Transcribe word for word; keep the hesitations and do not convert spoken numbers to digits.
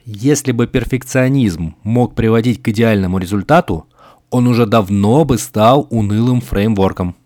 Если бы перфекционизм мог приводить к идеальному результату, он уже давно бы стал унылым фреймворком.